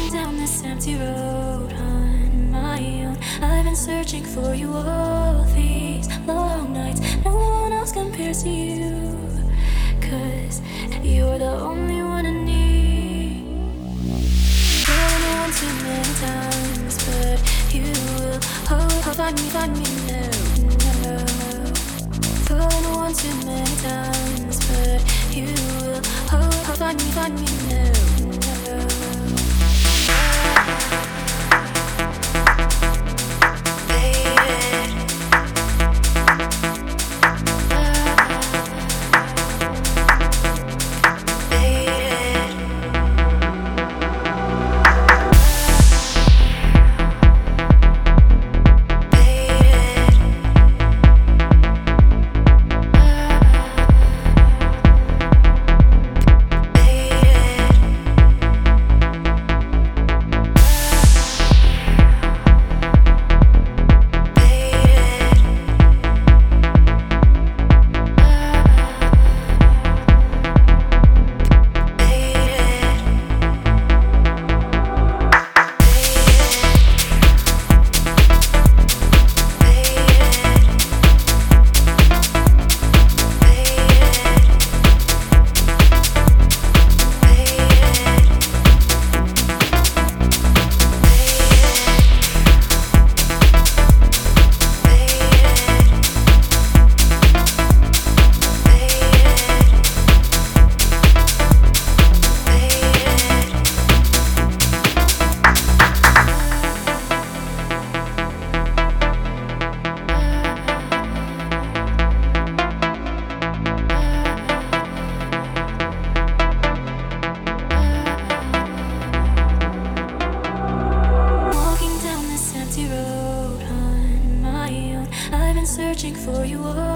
down this empty road on my own. I've been searching for you all these long nights. No one else compares to you, 'cause you're the only one I need. Fallen on too many times, but you will find me now. Fallen on too many times, but you will find me now. Searching for you all